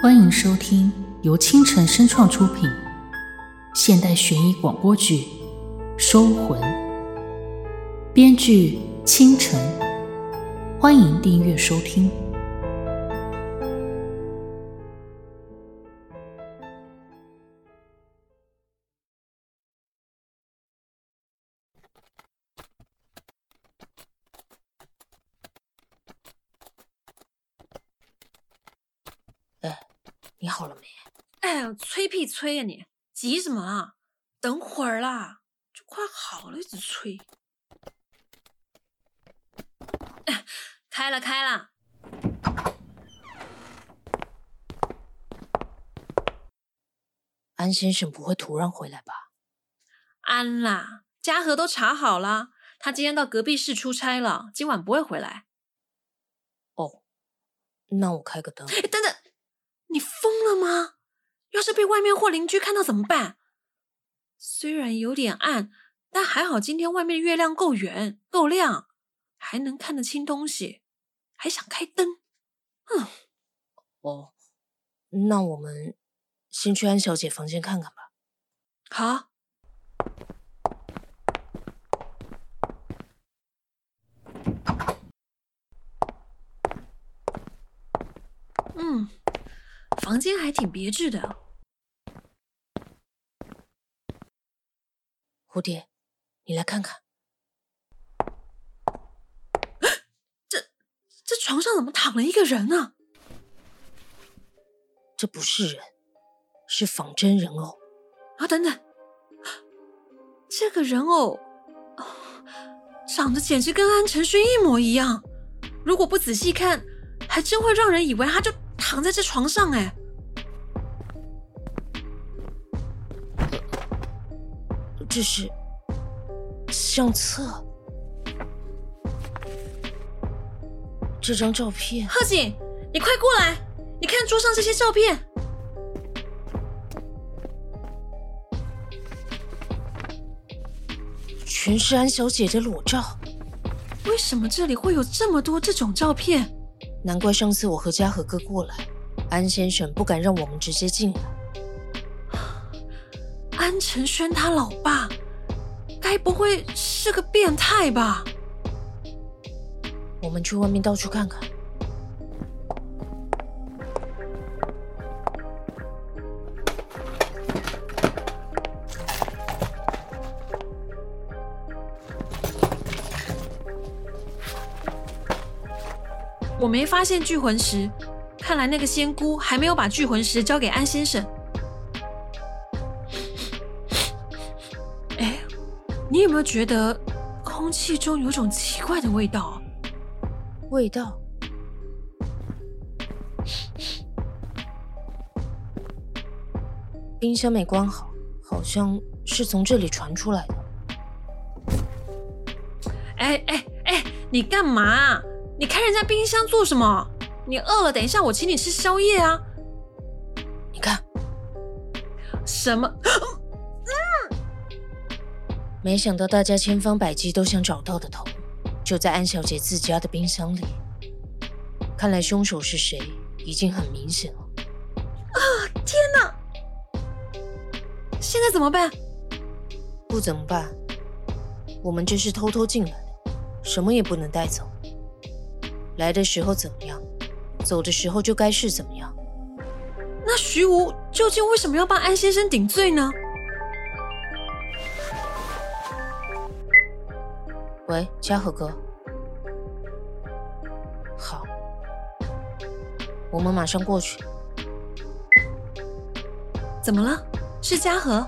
欢迎收听由青城声创出品现代悬疑广播剧《收魂》，编剧青城。欢迎订阅收听。 你好了没？ 哎呀，催屁催呀你！急什么啊？等会儿啦，就快好了，一直催。开了。 安先生不会突然回来吧？ 安啦，嘉禾都查好了，他今天到隔壁市出差了，今晚不会回来。 哦，那我开个灯。 等等，你疯了吗？要是被外面或邻居看到怎么办？虽然有点暗，但还好今天外面的月亮够圆够亮，还能看得清东西，还想开灯。 哦，那我们先去安小姐房间看看吧。 好。房间还挺别致的。 蝴蝶，你来看看。 这床上怎么躺了一个人呢？ 这不是人，是仿真人偶。 啊，等等，这个人偶长得简直跟安承轩一模一样，如果不仔细看，还真会让人以为他就躺在这床上。 这是相册。这张照片。 贺锦，你快过来，你看桌上这些照片。 全是安小姐的裸照。 为什么这里会有这么多这种照片？ 难怪上次我和嘉禾哥过来，安先生不敢让我们直接进来。 安承轩他老爸该不会是个变态吧？ 我们去外面到处看看。 我没发现聚魂石，看来那个仙姑还没有把聚魂石交给安先生。你有没有觉得空气中有种奇怪的味道？ 味道？冰箱没关好，好像是从这里传出来的。 你干嘛？你开人家冰箱做什么？你饿了，等一下我请你吃宵夜啊！ 你看。 什么？ 没想到大家千方百计都想找到的头，就在安小姐自家的冰箱里。看来凶手是谁，已经很明显了。 天哪！现在怎么办？ 不怎么办？我们这是偷偷进来的，什么也不能带走。来的时候怎么样，走的时候就该是怎么样。 那徐无究竟为什么要帮安先生顶罪呢？ 喂，嘉禾哥。好，我们马上过去。 怎么了？是嘉禾？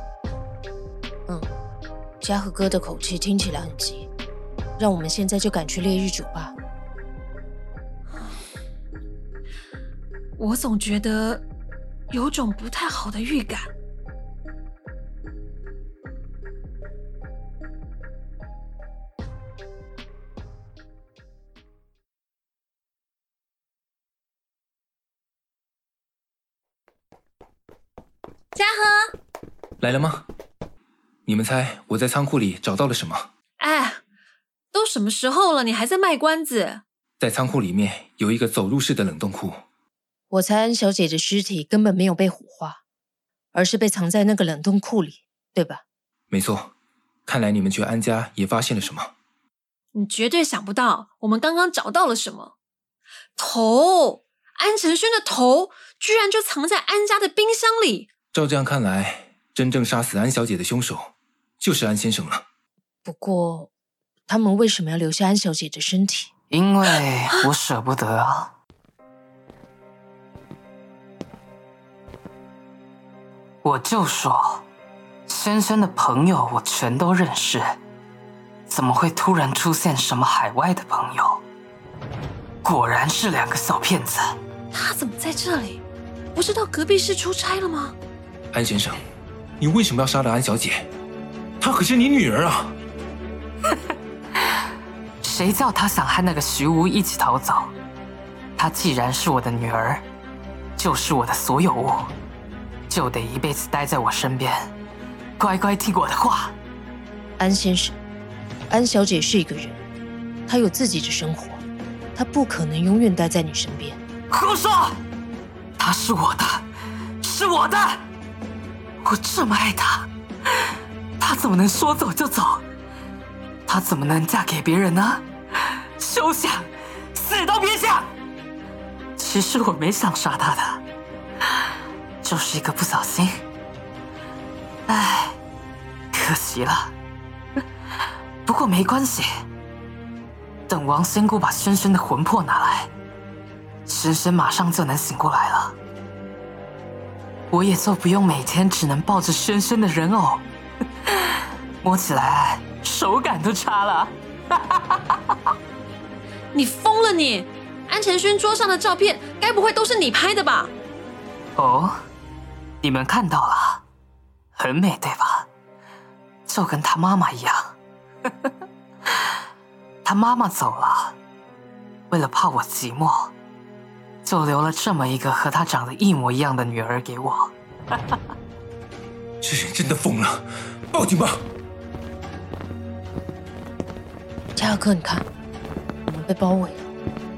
嘉禾哥的口气听起来很急，让我们现在就赶去烈日酒吧。 我总觉得有种不太好的预感。嘉禾来了吗？你们猜我在仓库里找到了什么？ 都什么时候了，你还在卖关子？ 在仓库里面有一个走入式的冷冻库。 我猜安小姐的尸体根本没有被火化，而是被藏在那个冷冻库里，对吧？ 没错，看来你们去安家也发现了什么。 你绝对想不到，我们刚刚找到了什么？头！安承轩的头居然就藏在安家的冰箱里。 照这样看来，真正杀死安小姐的凶手就是安先生了。 不过，他们为什么要留下安小姐的身体？ 因为我舍不得啊。我就说，先生的朋友我全都认识，怎么会突然出现什么海外的朋友？果然是2个小骗子。 他怎么在这里？不是到隔壁市出差了吗？ 安先生，你为什么要杀了安小姐？她可是你女儿啊！ 谁叫他想和那个徐无一起逃走？她既然是我的女儿，就是我的所有物，就得一辈子待在我身边，乖乖听我的话。 安先生，安小姐是一个人，她有自己的生活，她不可能永远待在你身边。 胡说！她是我的，是我的，我这么爱她，她怎么能说走就走？她怎么能嫁给别人呢？休想，死都别想！其实我没想杀她的，就是一个不小心。唉，可惜了。不过没关系，等王仙姑把轩轩的魂魄拿来，轩轩马上就能醒过来了。我也就不用每天只能抱着轩轩的人偶，摸起来手感都差了。 你疯了你！安承轩桌上的照片，该不会都是你拍的吧？ 哦，你们看到了，很美对吧？就跟他妈妈一样。他妈妈走了，为了怕我寂寞，就留了这么一个和他长得一模一样的女儿给我。 这人真的疯了，报警吧！ 加尔克，你看，我们被包围了。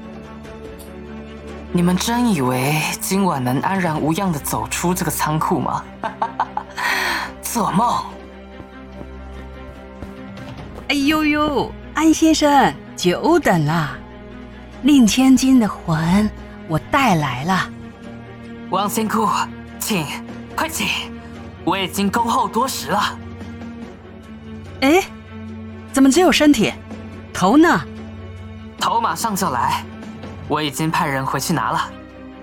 你们真以为今晚能安然无恙地走出这个仓库吗？做梦！ 哎呦呦，安先生，久等了。令千金的魂我带来了。 王仙姑，请，快请，我已经恭候多时了。 哎，怎么只有身体？头呢？ 头马上就来，我已经派人回去拿了。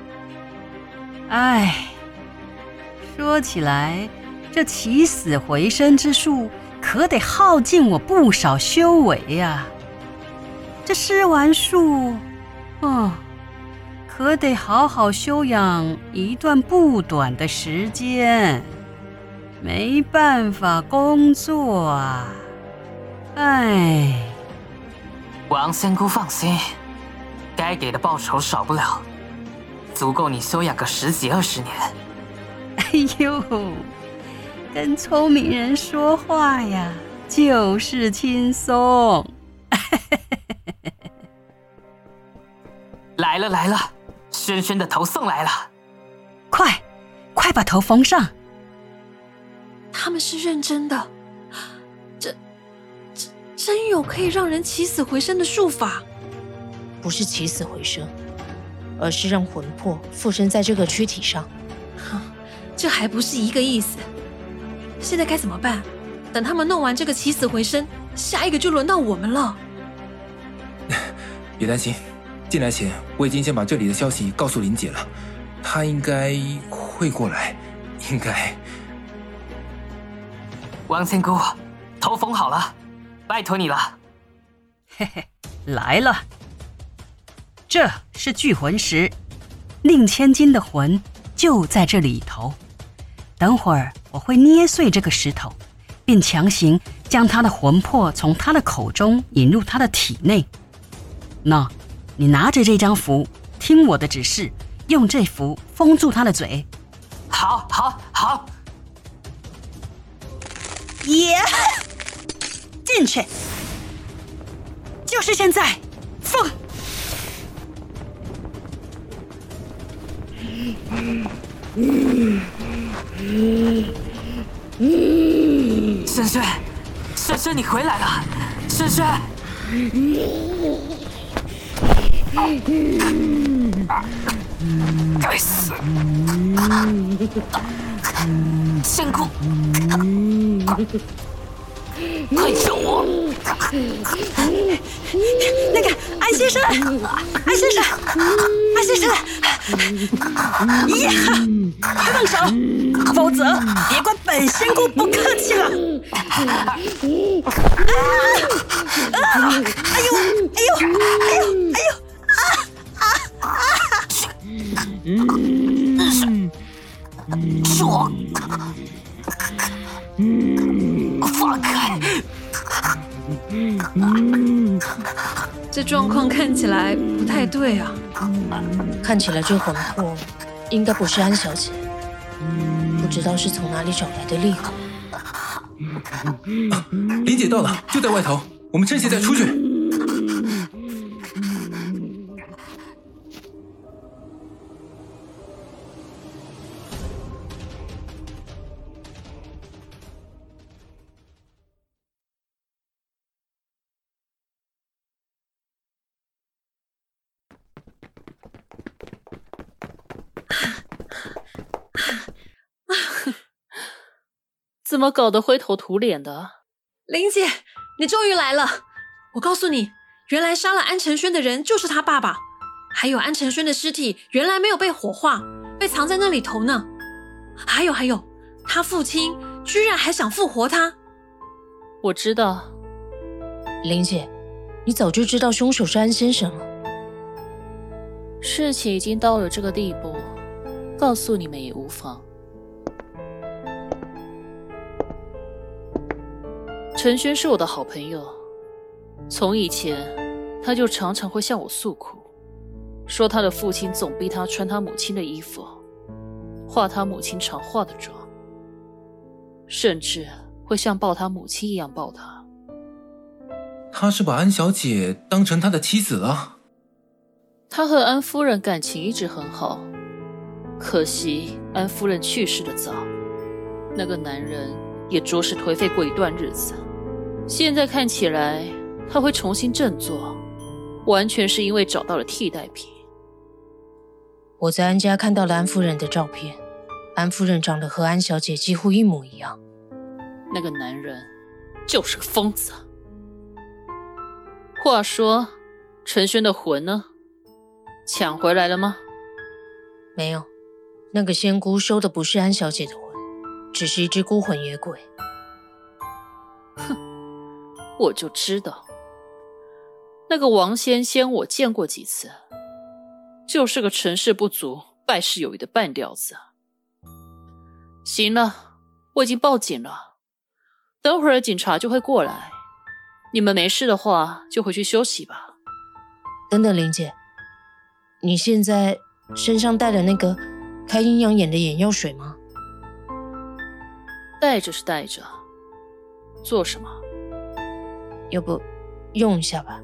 哎，说起来，这起死回生之术可得耗尽我不少修为呀。这施完术，可得好好休养一段不短的时间，没办法工作啊。哎， 王仙姑放心，该给的报酬少不了，足够你休养个10几20年。 哎呦，跟聪明人说话呀，就是轻松。 来了来了，轩轩的头送来了， 快把头缝上。 他们是认真的，真有可以让人起死回生的术法。 不是起死回生，而是让魂魄附身在这个躯体上。 这还不是一个意思。现在该怎么办？等他们弄完这个起死回生，下一个就轮到我们了。 别担心，进来前我已经先把这里的消息告诉林姐了，她应该会过来，应该。 王仙姑，头缝好了，拜托你了。 嘿嘿，来了。这是聚魂石，令千金的魂就在这里头。等会儿我会捏碎这个石头，并强行将他的魂魄从他的口中引入他的体内。那，你拿着这张符，听我的指示，用这符封住他的嘴。 好。 耶！进去，就是现在，封！ 轩轩，轩轩，你回来了，轩轩。该死！仙姑，快救我！ 那个安先生，安先生，安先生，呀，放手，否则别怪本仙姑不客气了。哎呦，哎呦，哎呦，哎呦！ 说，放开！ 这状况看起来不太对啊。 看起来这魂魄应该不是安小姐，不知道是从哪里找来的厉鬼。 林姐到了，就在外头，我们趁现在出去。 怎么搞得灰头土脸的？ 林姐，你终于来了！我告诉你，原来杀了安承轩的人就是他爸爸，还有安承轩的尸体原来没有被火化，被藏在那里头呢。还有，他父亲居然还想复活他。 我知道。 林姐，你早就知道凶手是安先生了。 事情已经到了这个地步，告诉你们也无妨。陈轩是我的好朋友，从以前他就常常会向我诉苦，说他的父亲总逼他穿他母亲的衣服，化他母亲常化的妆，甚至会像抱他母亲一样抱他。 他是把安小姐当成他的妻子了？ 他和安夫人感情一直很好，可惜安夫人去世的早，那个男人也着实颓废过一段日子。现在看起来他会重新振作，完全是因为找到了替代品。 我在安家看到了安夫人的照片，安夫人长得和安小姐几乎一模一样。 那个男人就是个疯子。话说，陈轩的魂呢？抢回来了吗？ 没有，那个仙姑收的不是安小姐的魂，只是一只孤魂野鬼。 哼，我就知道，那个王仙仙我见过几次，就是个成事不足败事有余的半吊子。行了，我已经报警了，等会儿警察就会过来，你们没事的话就回去休息吧。 等等，林姐，你现在身上带了那个开阴阳眼的眼药水吗？ 带着是带着，做什么？ 要不用一下吧。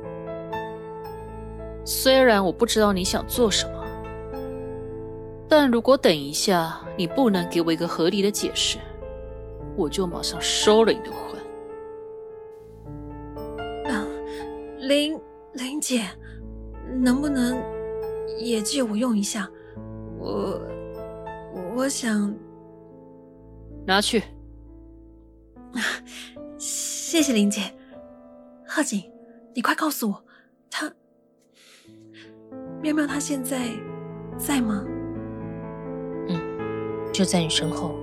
虽然我不知道你想做什么，但如果等一下你不能给我一个合理的解释，我就马上收了你的魂。 林姐，能不能也借我用一下？我想拿去。 谢谢林姐。贺锦，你快告诉我，妙妙她现在吗？ 就在你身后。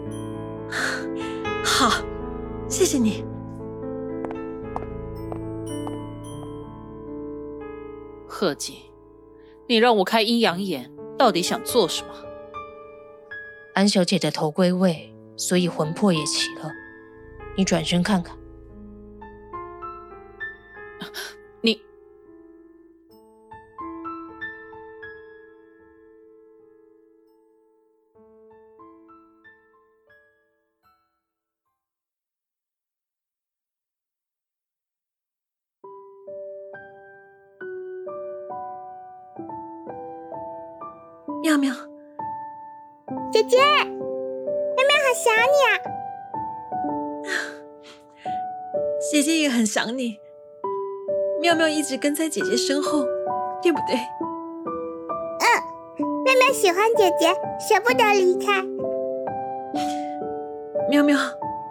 好，谢谢你。 贺锦，你让我开阴阳眼，到底想做什么？ 安小姐的头归位，所以魂魄也齐了。你转身看看。 你妙妙， 姐姐，妹妹好想你啊！ 姐姐也很想你。妙妙一直跟在姐姐身后，对不对？ 妹妹喜欢姐姐，舍不得离开。 妙妙，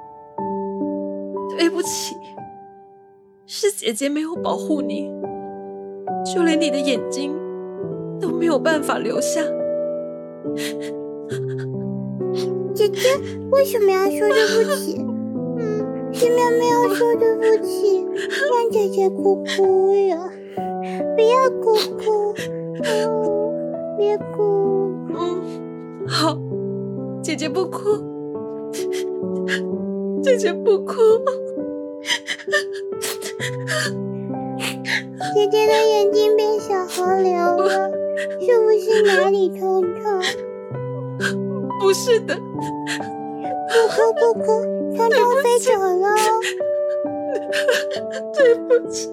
对不起，是姐姐没有保护你，就连你的眼睛都没有办法留下。 姐姐为什么要说对不起？是妙妙要说对不起，让姐姐哭哭了。不要哭哭，别哭。 好，姐姐不哭，姐姐不哭。 姐姐的眼睛变小河流了，是不是哪里痛痛？ 不是的。 不哭不哭，痛痛飞走了。 对不起。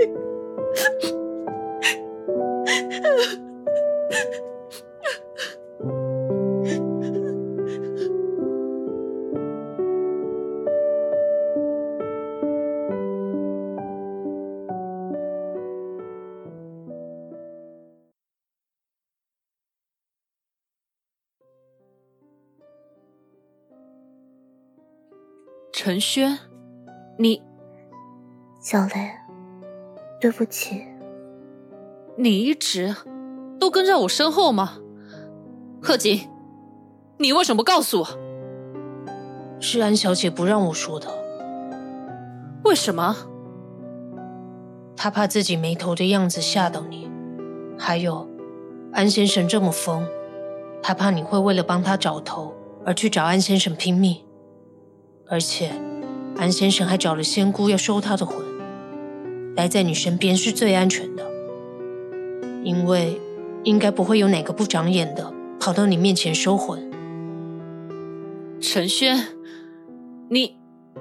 陈轩，你…… 小雷，对不起。 你一直都跟在我身后吗？贺锦，你为什么不告诉我？ 是安小姐不让我说的。 为什么？ 她怕自己没头的样子吓到你，还有安先生这么疯，她怕你会为了帮他找头而去找安先生拼命。而且安先生还找了仙姑要收他的魂，待在你身边是最安全的，因为应该不会有哪个不长眼的跑到你面前收魂。 陈轩，你……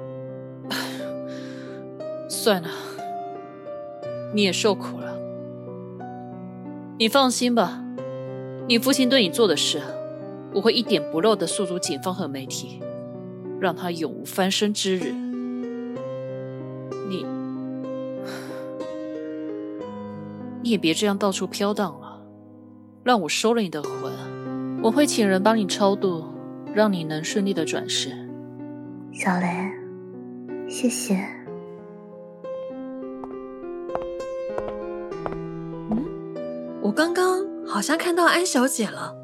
算了，你也受苦了。你放心吧，你父亲对你做的事，我会一点不漏地诉诸警方和媒体，让他永无翻身之日。你也别这样到处飘荡了，让我收了你的魂，我会请人帮你超度，让你能顺利的转世。 小雷，谢谢。 我刚刚好像看到安小姐了。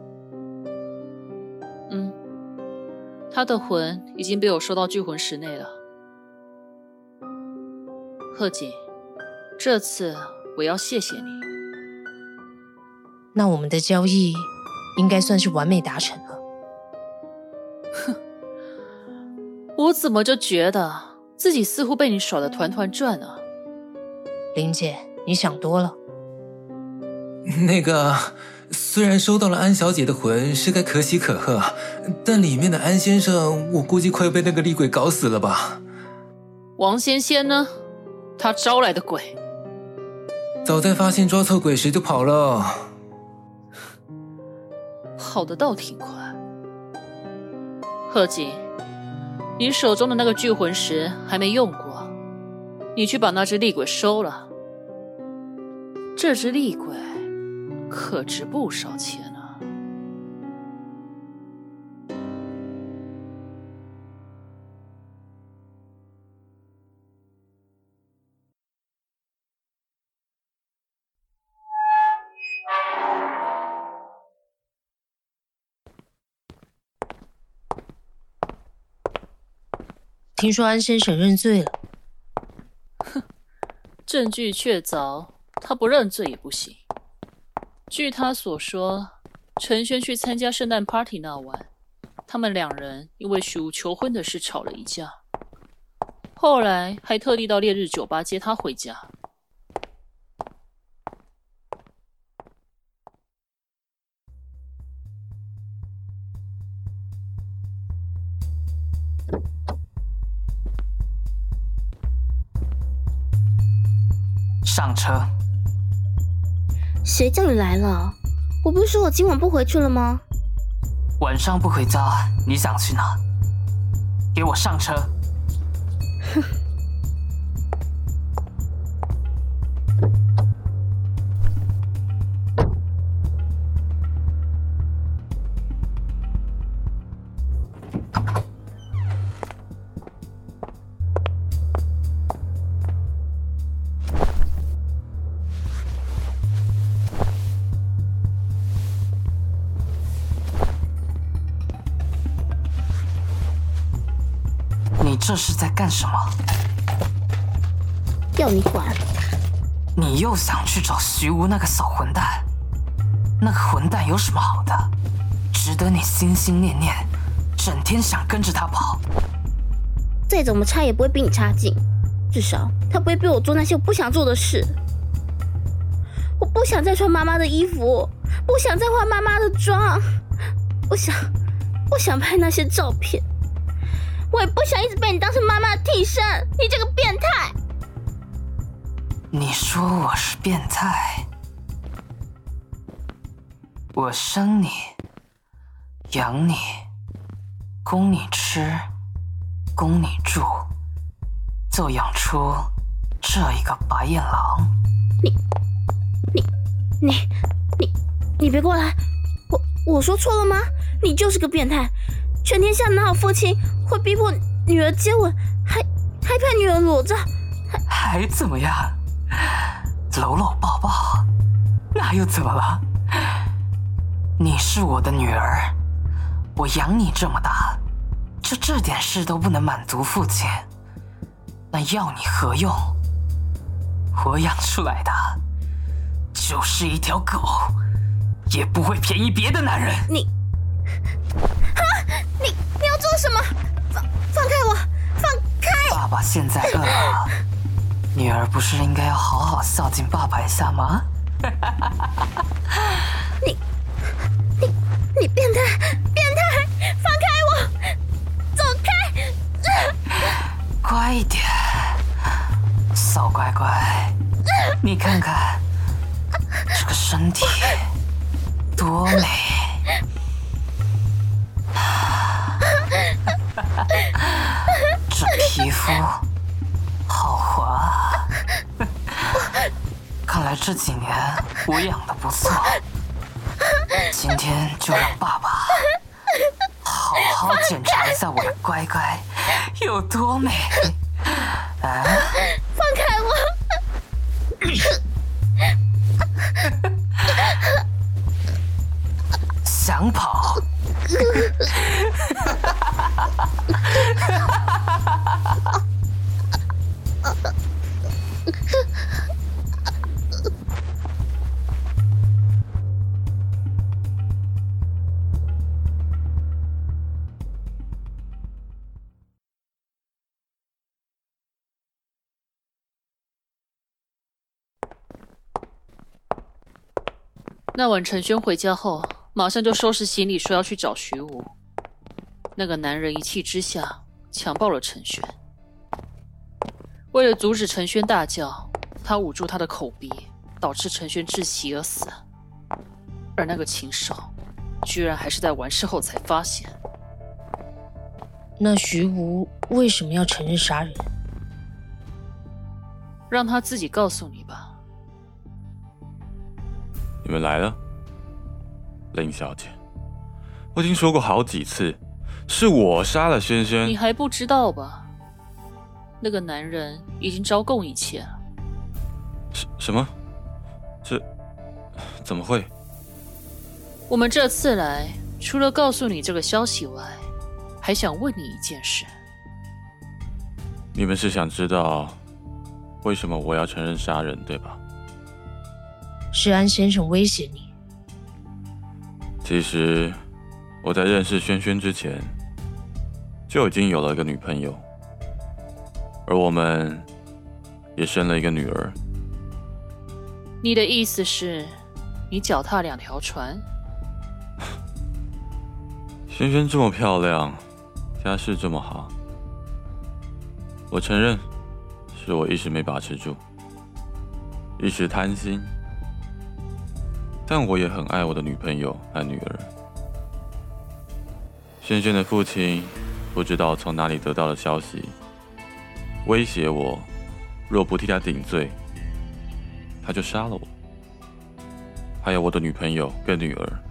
她的魂已经被我收到聚魂石内了。贺锦，这次我要谢谢你。 那我们的交易应该算是完美达成了。 哼，我怎么就觉得自己似乎被你耍得团团转啊？ 林姐，你想多了。 那个，虽然收到了安小姐的魂是该可喜可贺，但里面的安先生，我估计快被那个厉鬼搞死了吧？ 王仙仙呢？他招来的鬼， 早在发现抓错鬼时就跑了。 跑得倒挺快。贺锦，你手中的那个聚魂石还没用过，你去把那只厉鬼收了。这只厉鬼可值不少钱啊。 听说安先生认罪了。 哼，证据确凿，他不认罪也不行。据他所说，陈轩去参加圣诞 party 那晚，他们两人因为许无求婚的事吵了一架，后来还特地到烈日酒吧接他回家。 上车。 谁叫你来了？我不是说我今晚不回去了吗？ 晚上不回家，你想去哪？给我上车！ 哼。 你这是在干什么？ 要你管！ 你又想去找徐无那个小混蛋？那个混蛋有什么好的，值得你心心念念，整天想跟着他跑？ 再怎么差也不会比你差劲，至少他不会逼我做那些我不想做的事。我不想再穿妈妈的衣服，不想再化妈妈的妆，不想拍那些照片。我也不想一直被你当成妈妈的替身，你这个变态！ 你说我是变态？我生你，养你，供你吃，供你住，就养出这一个白眼狼。 你别过来！我说错了吗？你就是个变态！全天下哪有父亲会逼迫女儿接吻，还拍女儿裸照， 还怎么样？搂搂抱抱，那又怎么了？你是我的女儿，我养你这么大，这点事都不能满足父亲，那要你何用？我养出来的就是一条狗，也不会便宜别的男人。 你要做什么？放开我！放开！ 爸爸现在饿了，女儿不是应该要好好孝敬爸爸一下吗？ 你变态！放开我！走开！ 乖一点，小乖乖，你看看这个身体多美。这皮肤好滑，看来这几年我养得不错。今天就让爸爸好好检查一下我的乖乖有多美。啊！ 放开我！ 想跑？ 那晚陈轩回家后，马上就收拾行李，说要去找徐无。那个男人一气之下强暴了陈轩。为了阻止陈轩大叫，他捂住他的口鼻，导致陈轩窒息而死。而那个禽兽，居然还是在完事后才发现。 那徐无为什么要承认杀人？ 让他自己告诉你吧。 你们来了，林小姐，我已经说过好几次，是我杀了轩轩。 你还不知道吧？那个男人已经招供一切了。 什么？这怎么会？ 我们这次来，除了告诉你这个消息外，还想问你一件事。 你们是想知道为什么我要承认杀人，对吧？ 是安先生威胁你。 其实我在认识轩轩之前，就已经有了一个女朋友，而我们也生了一个女儿。 你的意思是，你脚踏两条船？ 轩轩这么漂亮，家世这么好，我承认是我一时没把持住，一时贪心。但我也很爱我的女朋友和女儿。 轩轩的父亲不知道从哪里得到了消息，威胁我，若不替他顶罪，他就杀了我，还有我的女朋友跟女儿。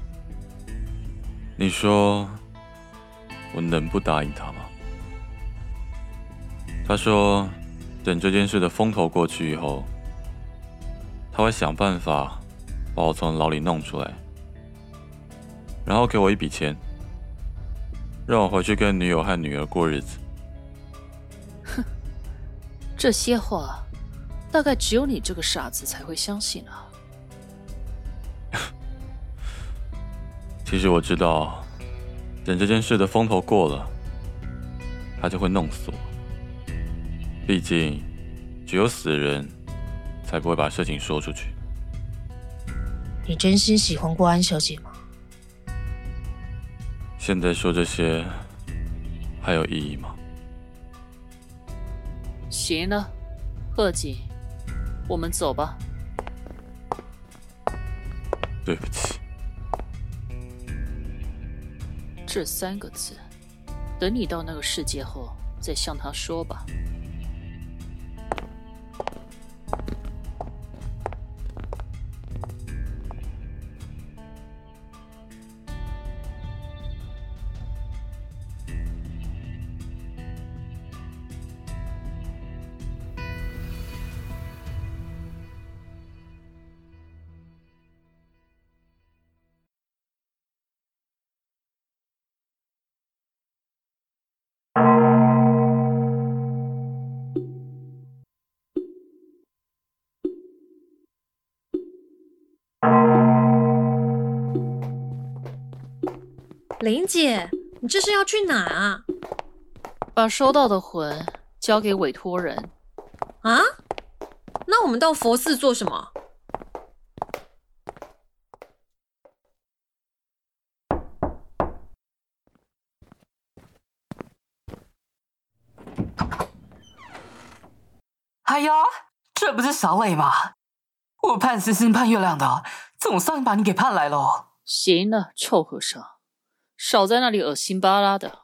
你说我能不答应他吗？他说，等这件事的风头过去以后，他会想办法把我从牢里弄出来，然后给我一笔钱，让我回去跟女友和女儿过日子。 哼，这些话大概只有你这个傻子才会相信啊。 其实我知道，等这件事的风头过了，他就会弄死我。毕竟，只有死人才不会把事情说出去。 你真心喜欢过安小姐吗？ 现在说这些还有意义吗？ 行了，贺锦，我们走吧。 对不起。 这3个字，等你到那个世界后再向他说吧。 林姐，你这是要去哪啊？ 把收到的魂交给委托人。 啊？那我们到佛寺做什么？ 哎呀，这不是小磊吗？我盼星星盼月亮的，总算把你给盼来了。 行了，臭和尚，少在那里恶心巴拉的。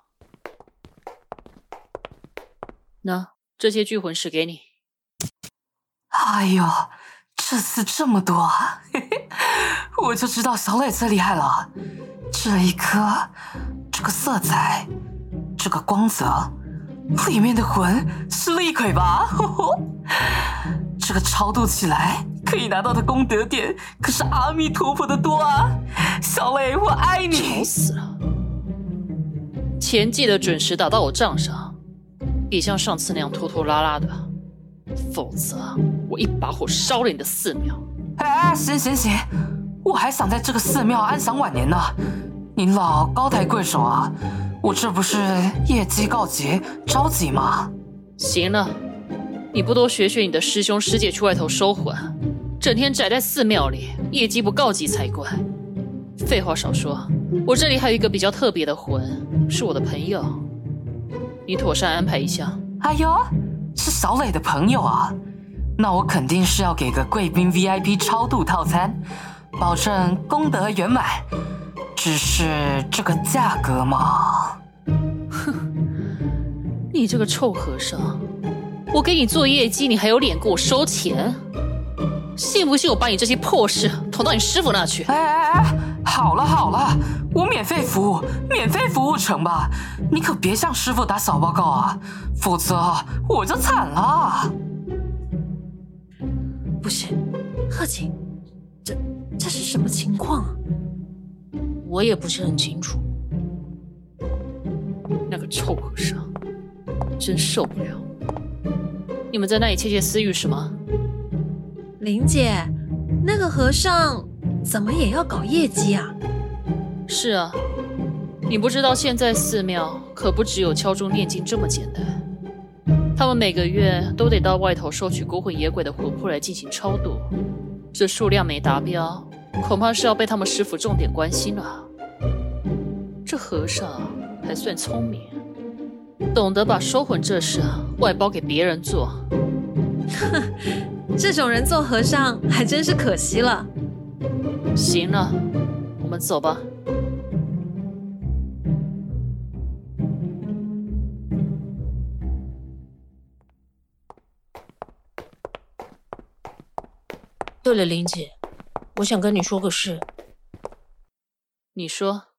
那这些聚魂石给你。 哎呦，这次这么多啊！我就知道小磊最厉害了。这一颗，这个色彩，这个光泽，里面的魂是厉鬼吧？这个超度起来可以拿到的功德点可是阿弥陀佛的多啊！小磊，我爱你！ 吵死了！钱记得准时打到我账上，别像上次那样拖拖拉拉的，否则我一把火烧了你的寺庙！ 哎，行行行，我还想在这个寺庙安享晚年呢。您老高抬贵手啊，我这不是业绩告急着急吗？ 行了，你不多学学你的师兄师姐去外头收魂，整天宅在寺庙里，业绩不告急才怪。废话少说，我这里还有一个比较特别的魂，是我的朋友，你妥善安排一下。 哎呦，是小磊的朋友啊，那我肯定是要给个贵宾 VIP 超度套餐，保证功德圆满。只是这个价格嘛…… 哼，你这个臭和尚，我给你做业绩，你还有脸给我收钱？信不信我把你这些破事捅到你师傅那去？ 哎，好了好了，我免费服务成吧，你可别向师傅打小报告啊，否则我就惨了。 不是，贺锦，这是什么情况啊？ 我也不是很清楚。 那个臭和尚，真受不了！你们在那里窃窃私语什么？ 林姐，那个和尚怎么也要搞业绩啊？ 是啊，你不知道现在寺庙可不只有敲钟念经这么简单，他们每个月都得到外头收取孤魂野鬼的魂魄来进行超度，这数量没达标，恐怕是要被他们师傅重点关心了。这和尚还算聪明，懂得把收魂这事外包给别人做。 这种人做和尚还真是可惜了。 行了，我们走吧。 对了，林姐，我想跟你说个事。 你说。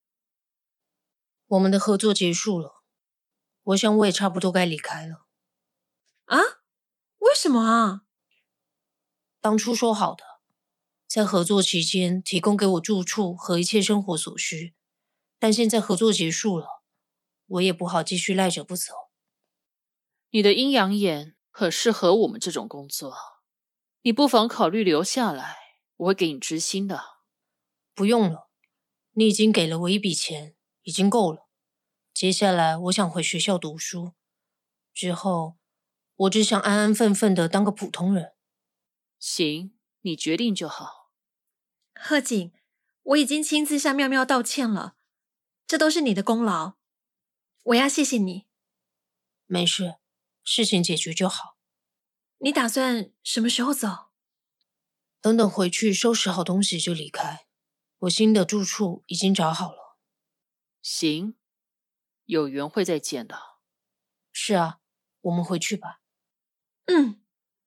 我们的合作结束了，我想我也差不多该离开了。 啊？为什么啊？ 当初说好的，在合作期间提供给我住处和一切生活所需，但现在合作结束了，我也不好继续赖着不走。 你的阴阳眼很适合我们这种工作，你不妨考虑留下来，我会给你支薪的。 不用了，你已经给了我一笔钱，已经够了。接下来我想回学校读书，之后我只想安安分分的当个普通人。 行，你决定就好。 贺锦，我已经亲自向妙妙道歉了，这都是你的功劳，我要谢谢你。 没事，事情解决就好。 你打算什么时候走？ 等等回去收拾好东西就离开，我新的住处已经找好了。 行，有缘会再见的。 是啊，我们回去吧。 嗯。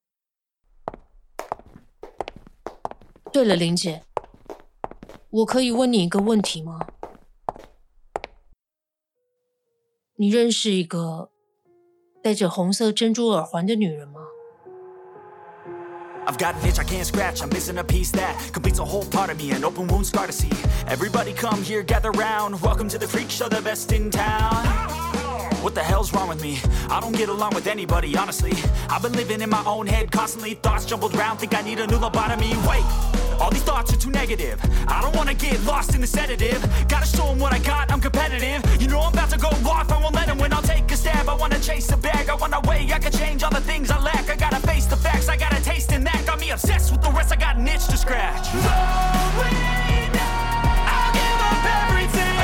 对了，林姐，我可以问你一个问题吗？你认识一个戴着红色珍珠耳环的女人吗 ？I've got an itch I can't scratch, I'm missing a piece that completes a whole part of me, an open wound scar to see. Everybody come here, gather round, welcome to the freak show, the best in town. What the hell's wrong with me? I don't get along with anybody, honestly. I've been living in my own head constantly, thoughts jumbled round, think I need a new lobotomy. Wait, all these thoughts are too negative. I don't wanna get lost in the sedative. Gotta show them what I got, I'm competitive. You know I'm about to go off, I won't let them win, I'll take a stab. I wanna chase a bag, I wanna weigh, I can change all the things I lack. I gotta face the facts, I got a taste in that. Got me obsessed with the rest, I got an itch to scratch. I'll give up everything.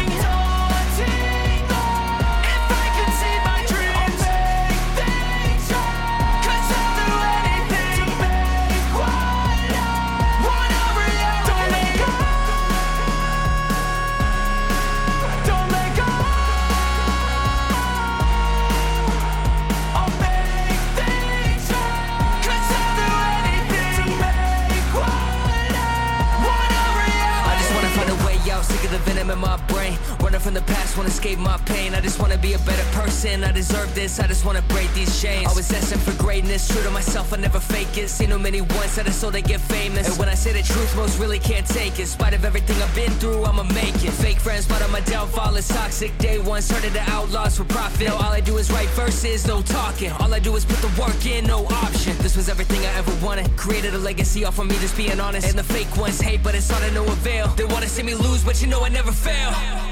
venom in my brain. Running from the past, wanna escape my pain. I just wanna be a better person, I deserve this, I just wanna break these chains. Always asking for greatness, true to myself, I never fake it. Seen too many once that I so they get famous. And when I say the truth, most really can't take it. In spite of everything I've been through, I'ma make it. Fake friends, but on my downfall is toxic. Day one, started the outlaws for profit. Now all I do is write verses, no talking. All I do is put the work in, no option. This was everything I ever wanted. Created a legacy off of me just being honest. And the fake ones hate, but it's all to no avail. They wanna see me lose, but you know I never fail.